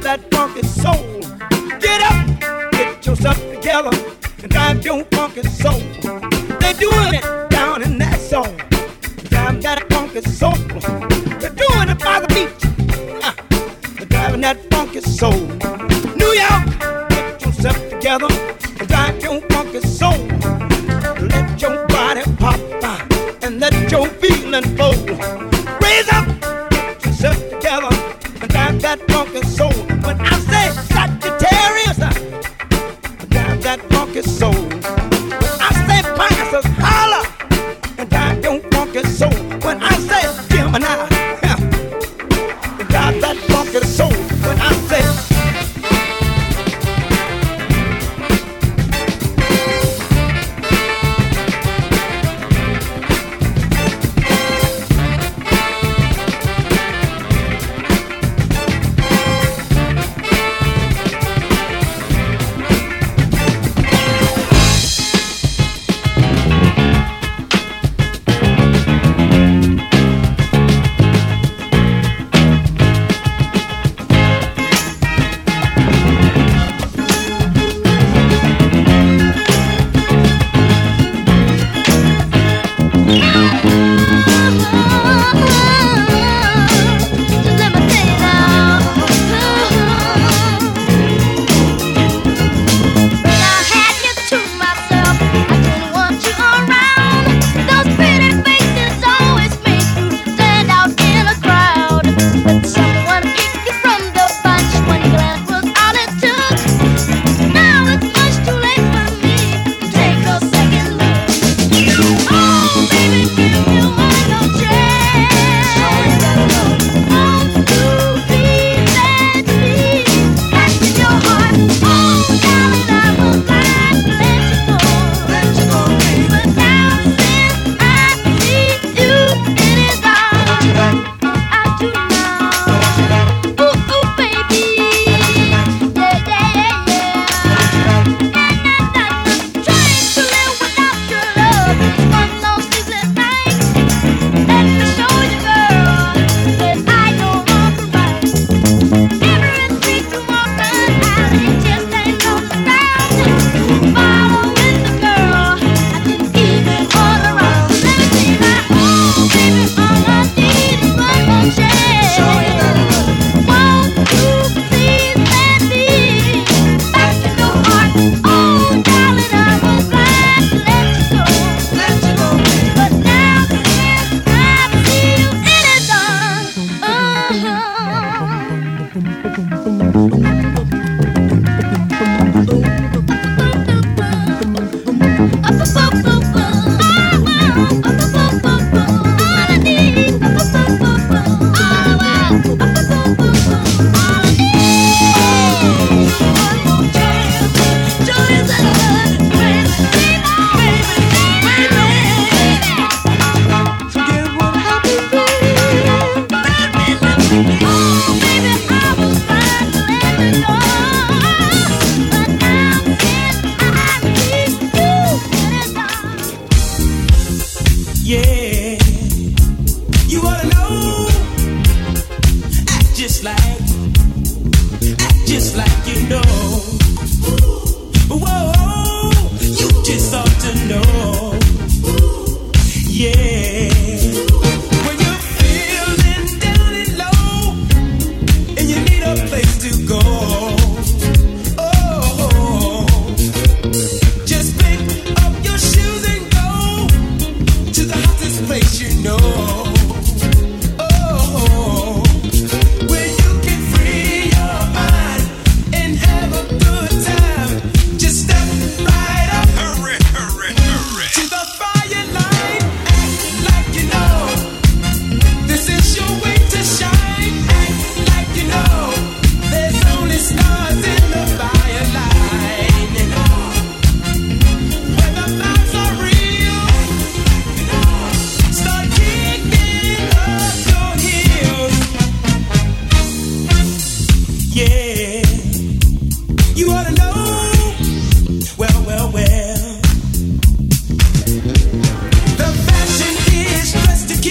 that funky soul. Get up, get yourself together, and drive your funky soul. They're doing it down in that soul. Drive that funky soul. They're doing it by the beach. They're driving that funky soul. New York, get yourself together, and drive your funky soul. Let your body pop and let your feeling flow. Raise up, get yourself together, and drive that funky soul. When I say Sagittarius, drive that funky soul. When I say Pisces, holla, and drive your funky soul. When I say Gemini, drive that funky soul. When I say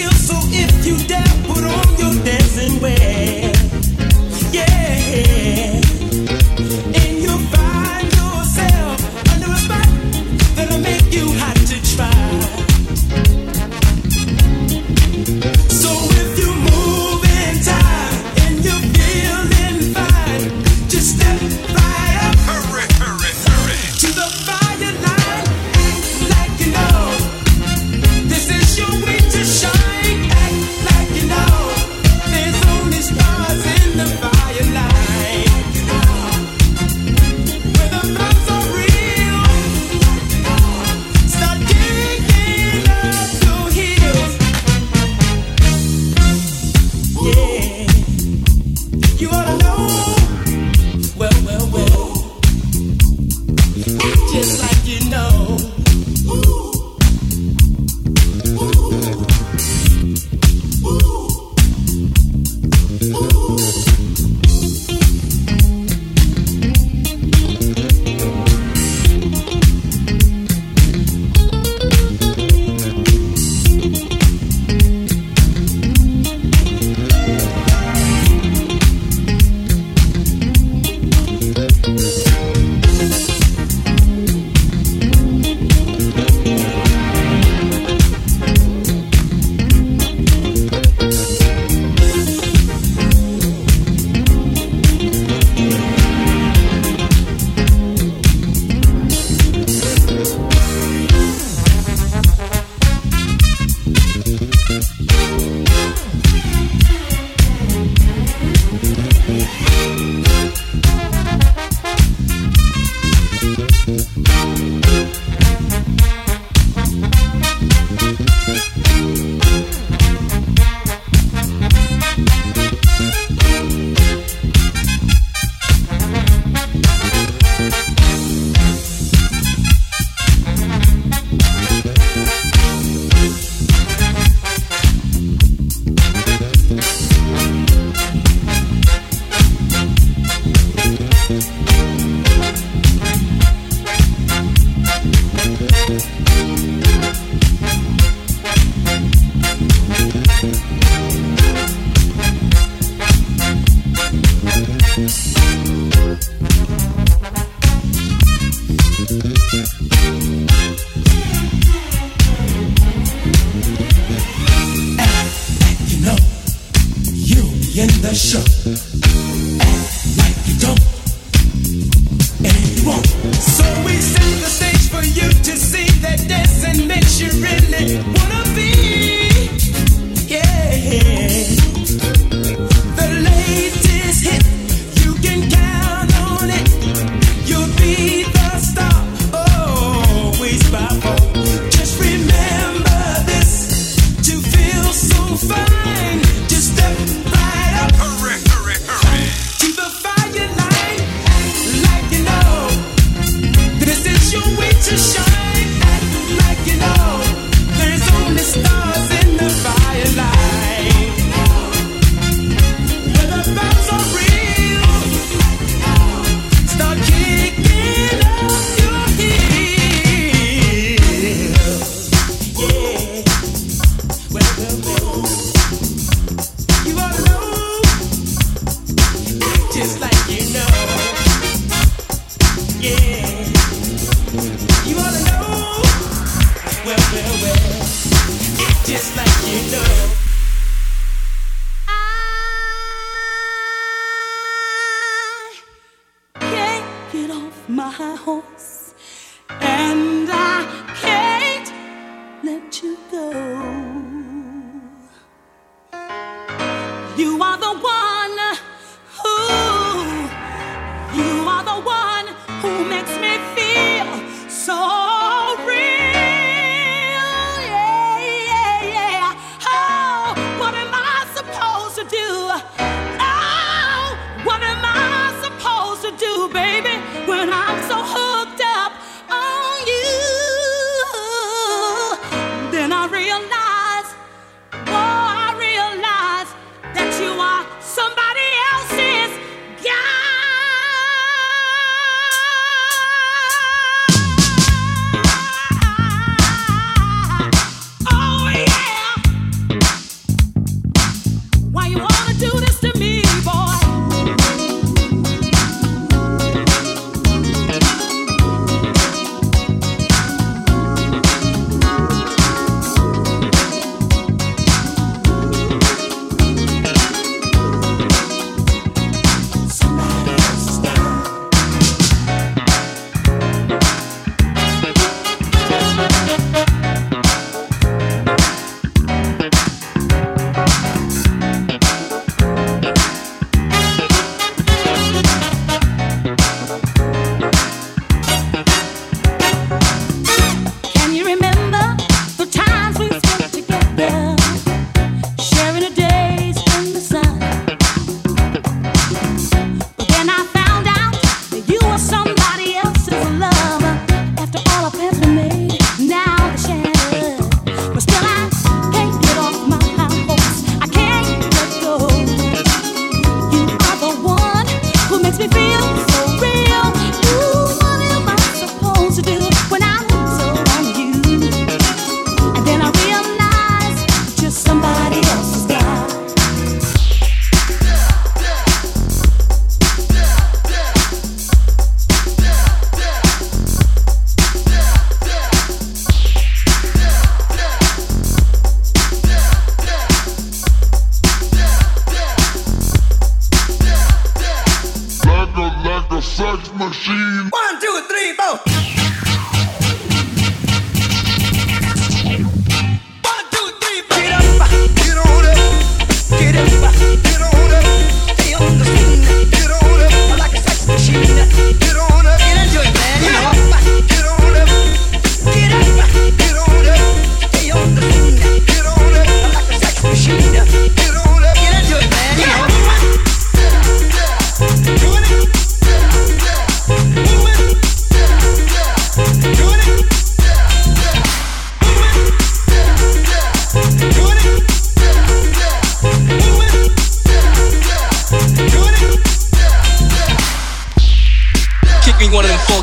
you dare put on your dancing wear. Yeah.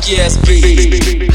funky ass beat.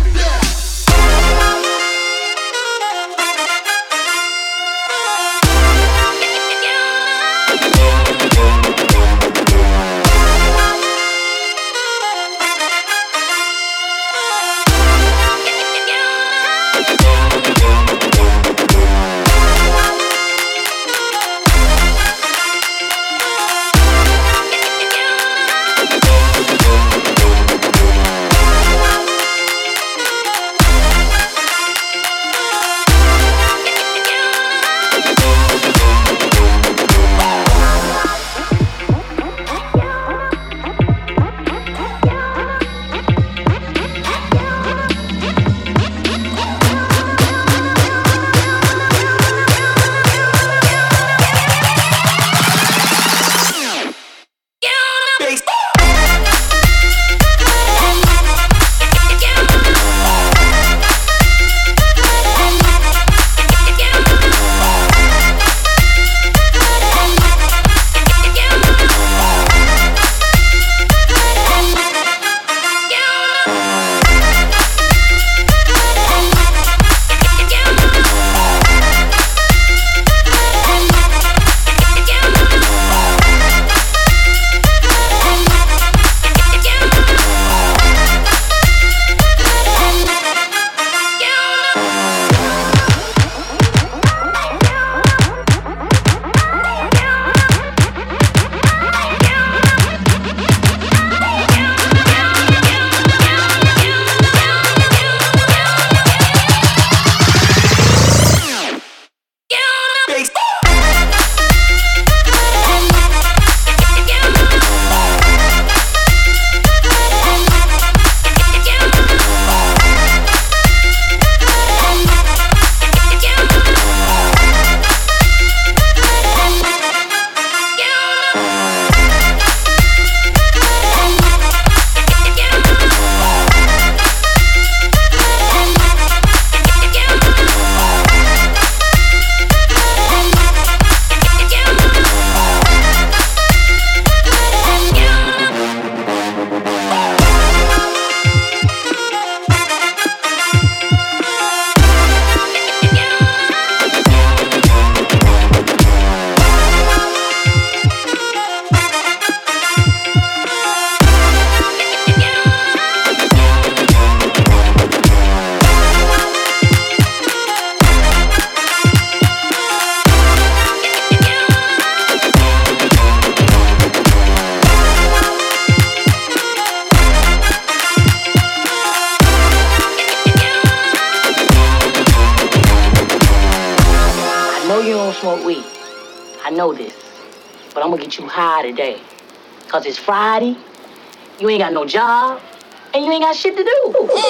Smoke weed. I know this. But I'm gonna get you high today. Cause it's Friday, you ain't got no job, and you ain't got shit to do.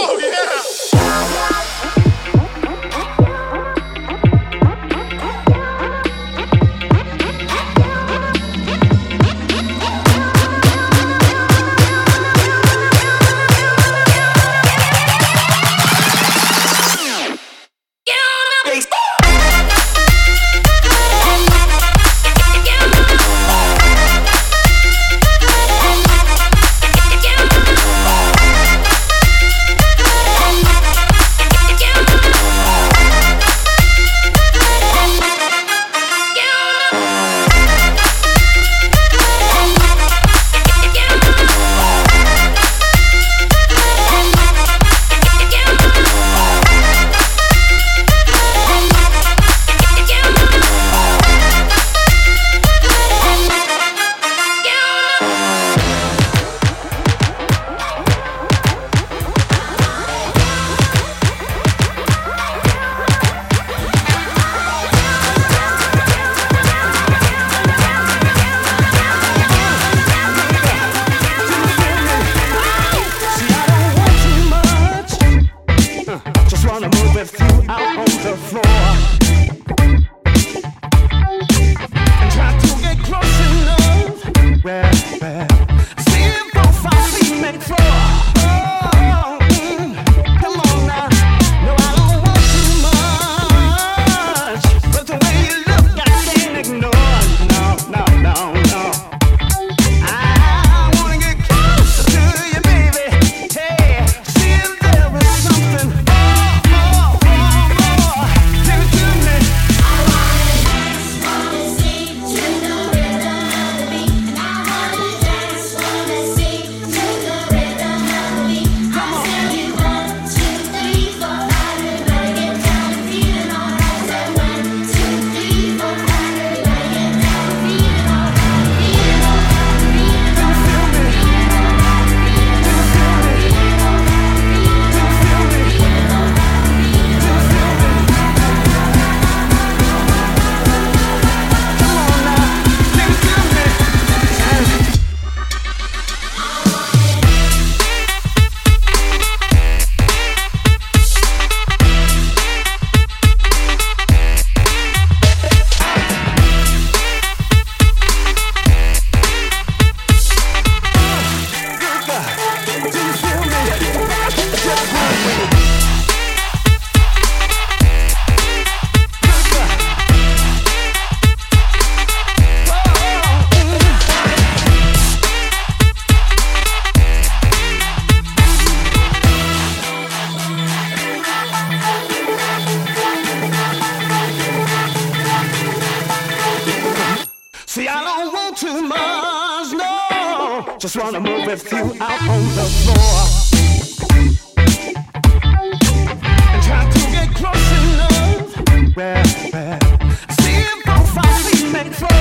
Oh, yeah. want too much, no. Just wanna move with you out on the floor. And try to get close enough. Well, see if both our feet make floor.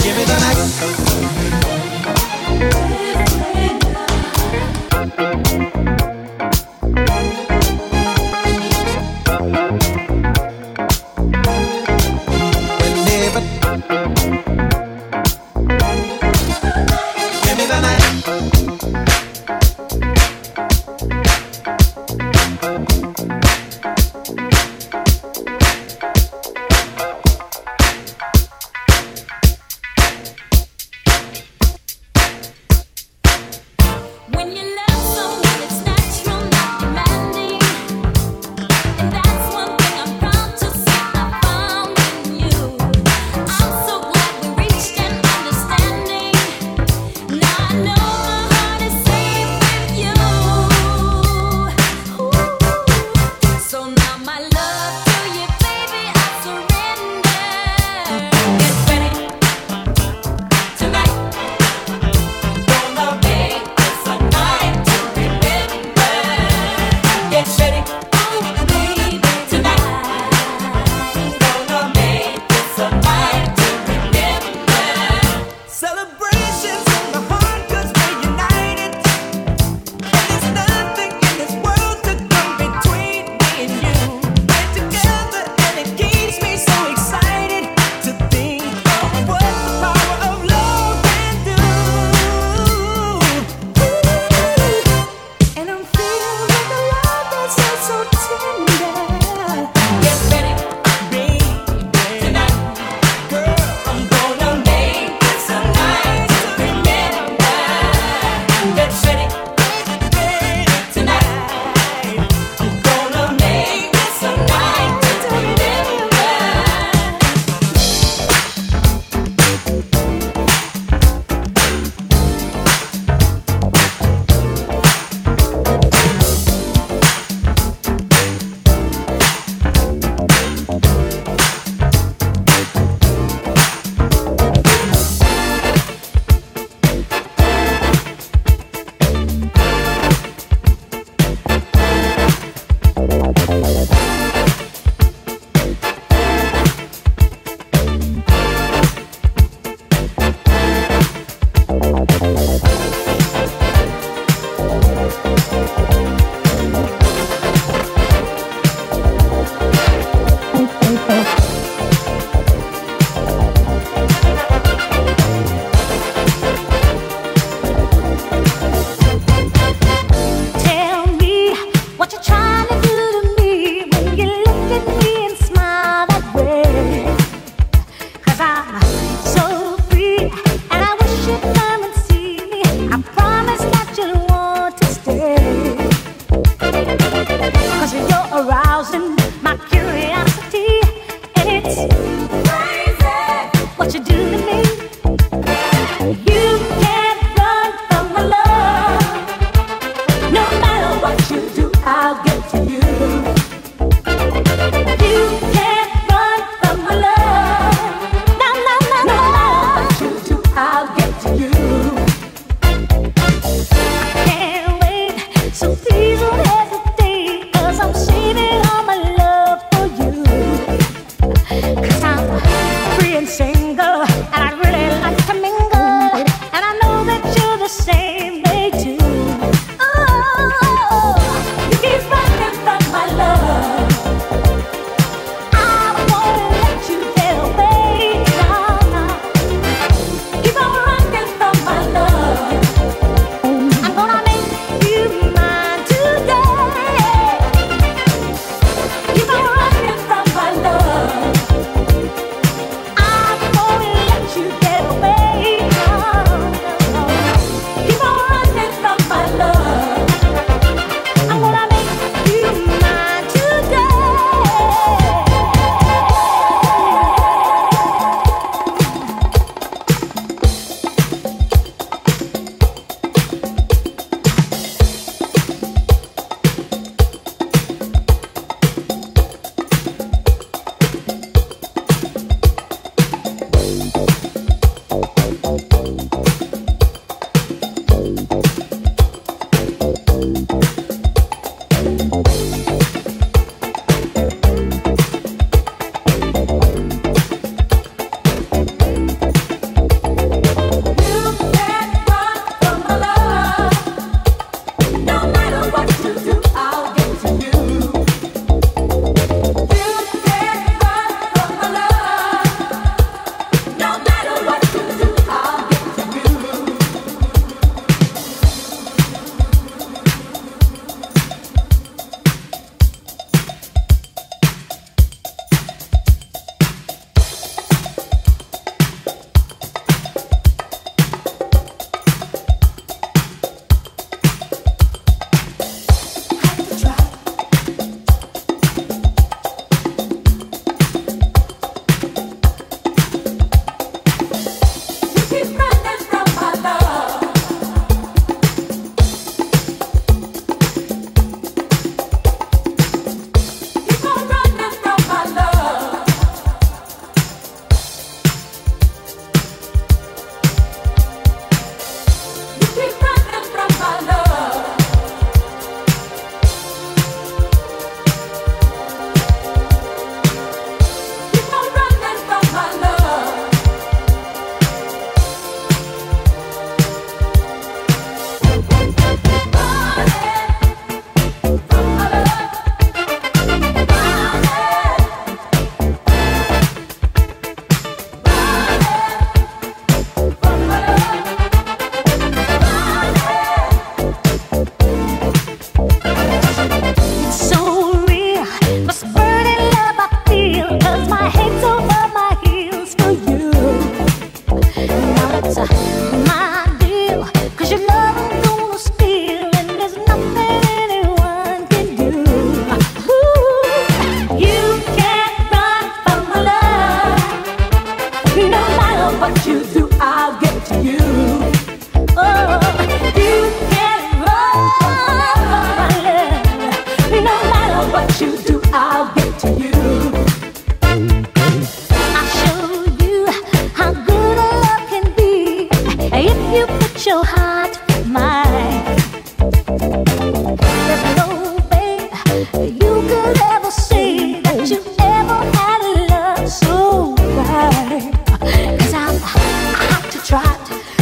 Give me the night.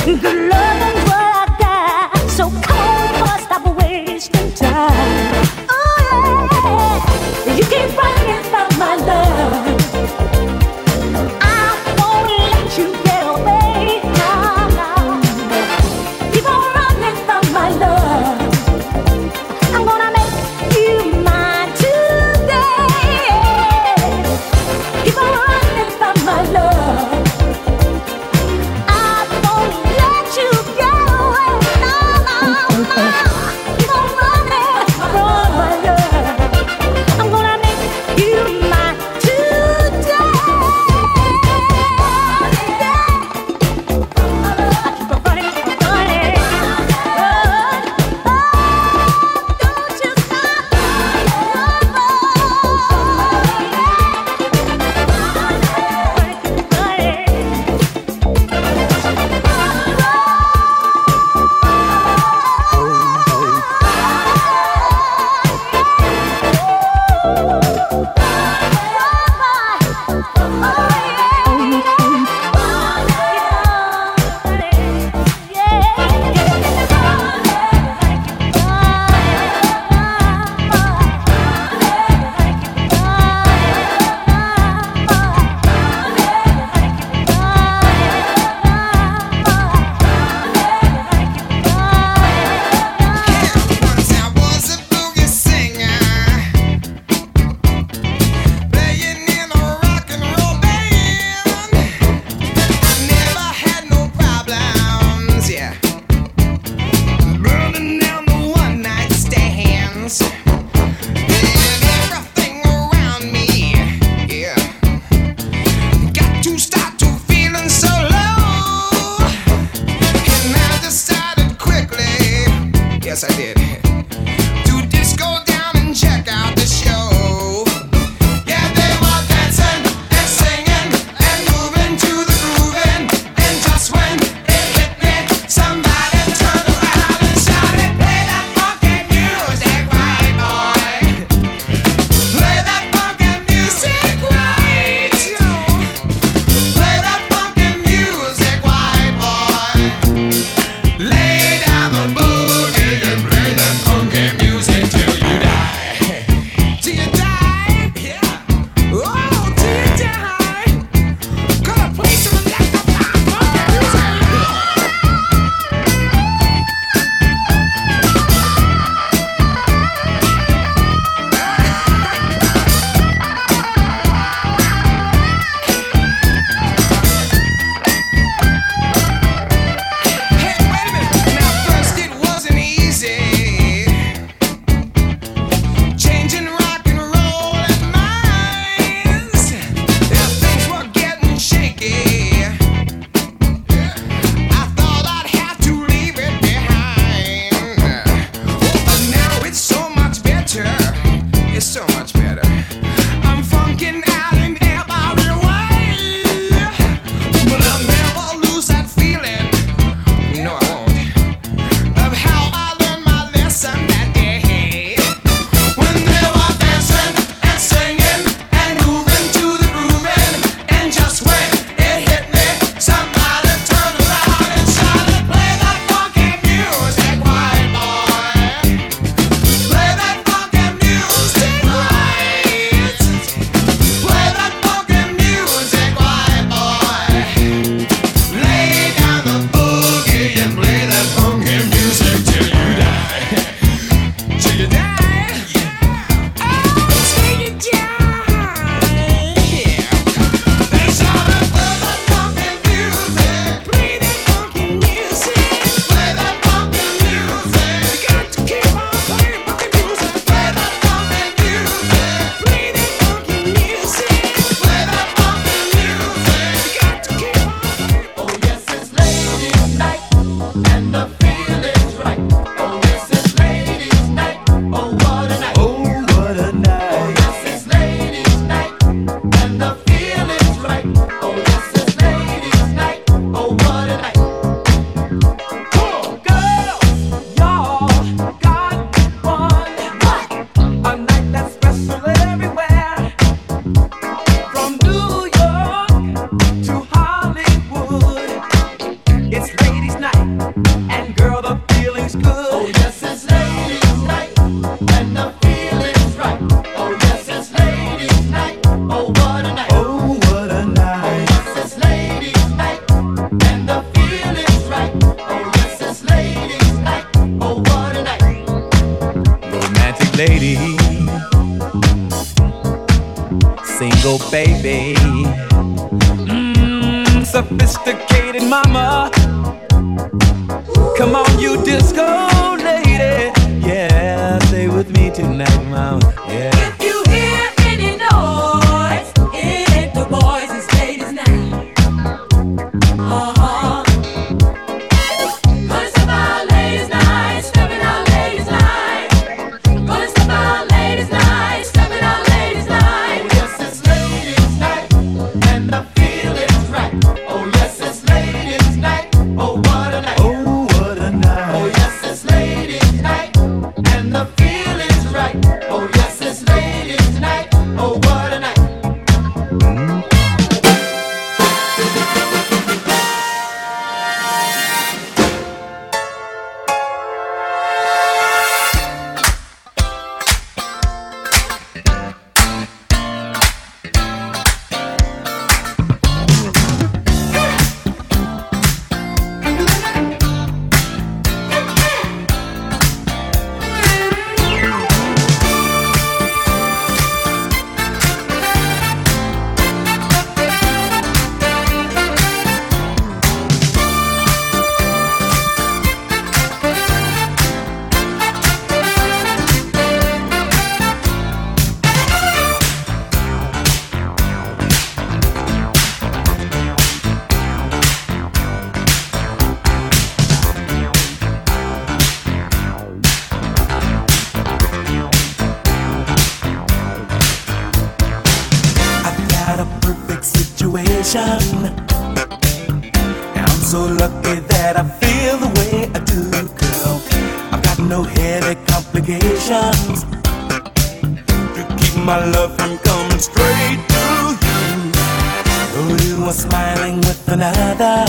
Lay down the boogie and play the ladies' night, and girl, the feeling's good. Oh yes, it's ladies' night, and the feeling's right. Oh yes, it's ladies' night. Oh what a night. Oh what a night. Oh yes, it's ladies' night, and the feeling's right. Oh yes, it's ladies' night. Oh what a night. Romantic lady, single baby, sophisticated mama. Come on, you disco lady. Yeah, stay with me tonight, mama. Yeah. If you hear any noise, it ain't the boys, it's ladies' night. Uh-huh. 'Cause it's about ladies' night, stepping out ladies' night. 'Cause it's about ladies' night, stepping out ladies' night. Oh yes, it's ladies' night, and the feeling's right. Oh yes, it's ladies' night. Oh what a night. Oh what a night. Oh yes, it's ladies' night, and the feeling's right. Oh yes, it's ladies' night. Oh what a night. Got a perfect situation, and I'm so lucky that I feel the way I do, girl. I've got no headache complications to keep my love from coming straight to you. Though you are smiling with another,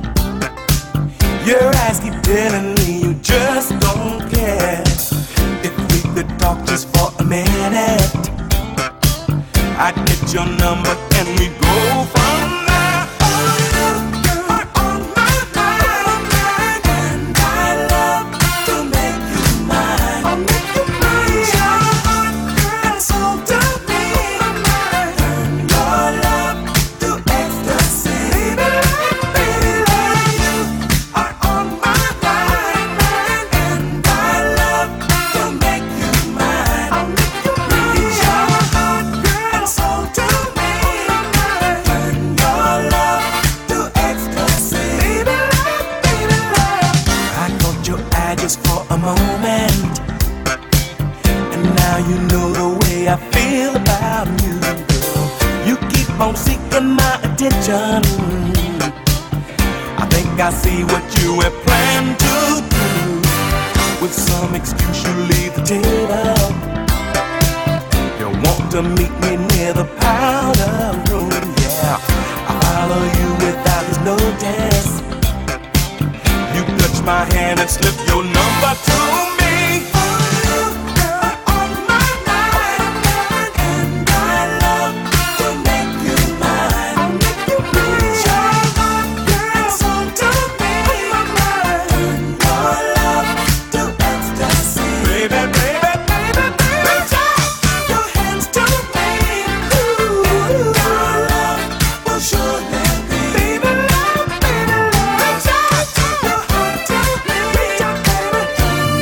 your eyes keep telling me you just don't care. If we could talk just for a minute, I'd get your number and we'd go from there. Oh, you are on my mind, and I love to make you mine. I'll make you mine. Your heart and soul to me. Turn your love to ecstasy. Baby, you are on my mind, and I love to make you mine. I'll make you mine. Your heart and soul to me. Turn your love to ecstasy. Baby, I caught your eye just for a moment, and now you know the way I feel about you, girl. You keep on seeking my attention. I think I see what you have planned to do. With some excuse you leave the table. You want to meet me near the powder room, yeah. I follow you without this notice. You touch my hand and slip your number to me. Oh, you are on my mind, and I love to make you mine. I'll make you mine. Your heart and soul to me. Turn your love to ecstasy. Baby, baby, baby, baby. Your hands to me. Ooh, your love will surely be. Baby, love, baby, love. Your heart to me. Baby,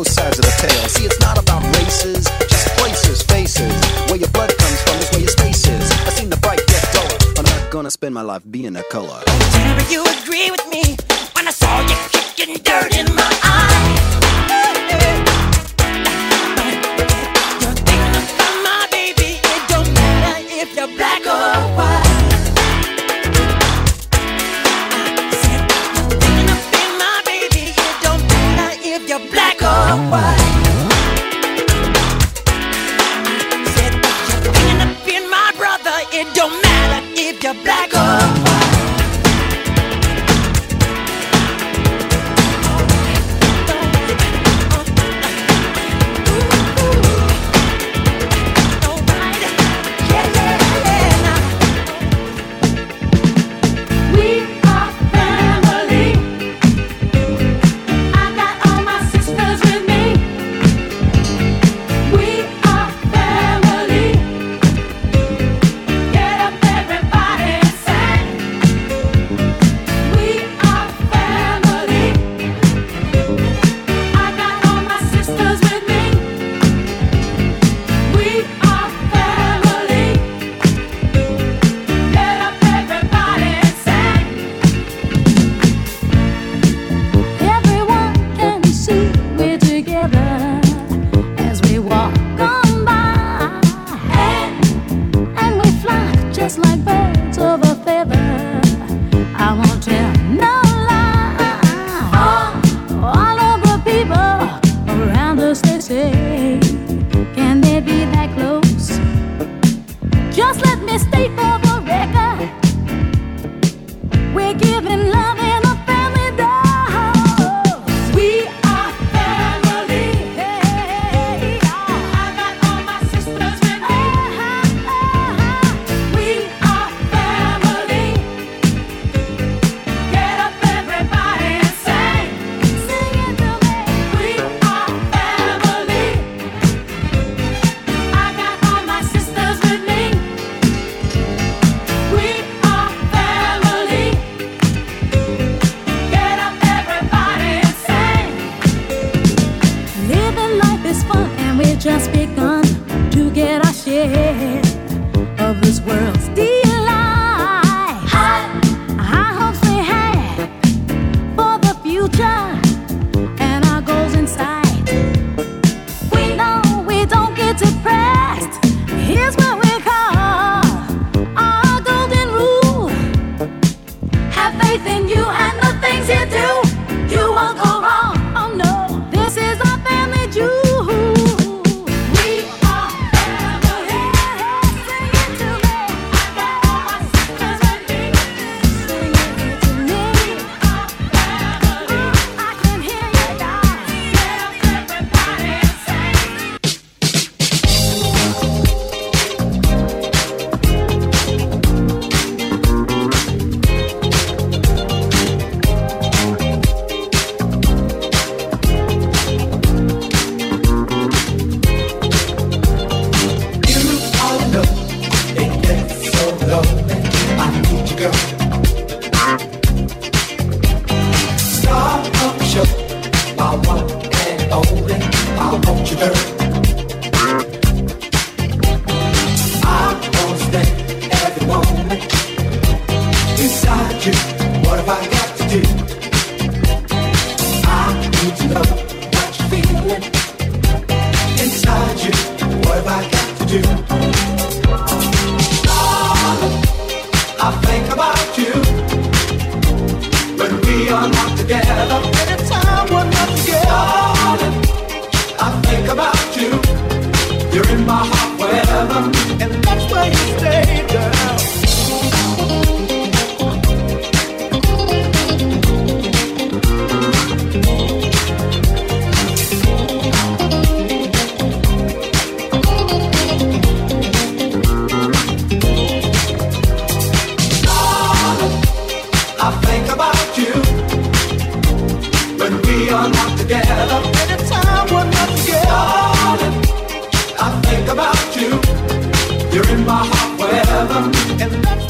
both sides of the tale. See, it's not about races, just places, faces. Where your blood comes from is where your space is. I seen the bright get duller. I'm not gonna spend my life being a color. Tell me you agree with me when I saw you kicking dirt in my eye. You're thinking about my baby. It don't matter if you're black or white. I said you're thinking about my baby. It don't matter if you're black or white. I said you're thinking about my brother. It don't matter if you're black or white. You're in my heart forever, and that's